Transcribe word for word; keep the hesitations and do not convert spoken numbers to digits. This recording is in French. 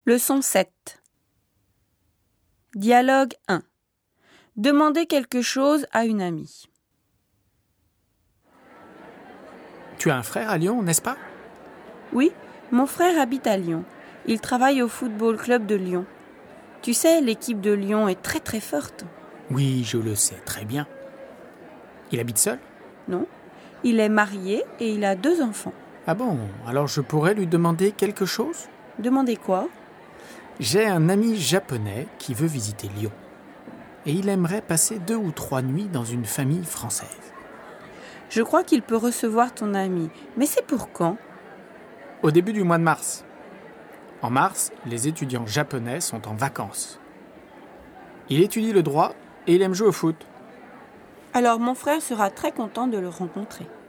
Leçon sept. Dialogue un. Demandez quelque chose à une amie. Tu as un frère à Lyon, n'est-ce pas ? Oui, mon frère habite à Lyon. Il travaille au football club de Lyon. Tu sais, l'équipe de Lyon est très très forte. Oui, je le sais très bien. Il habite seul ? Non, il est marié et il a deux enfants. Ah bon, alors je pourrais lui demander quelque chose ? Demandez quoi ? J'ai un ami japonais qui veut visiter Lyon. Et il aimerait passer deux ou trois nuits dans une famille française. Je crois qu'il peut recevoir ton ami, mais c'est pour quand ? Au début du mois de mars. En mars, les étudiants japonais sont en vacances. Il étudie le droit et il aime jouer au foot. Alors mon frère sera très content de le rencontrer.